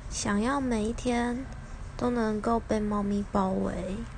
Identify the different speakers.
Speaker 1: 想要每一天都能够被猫咪包围。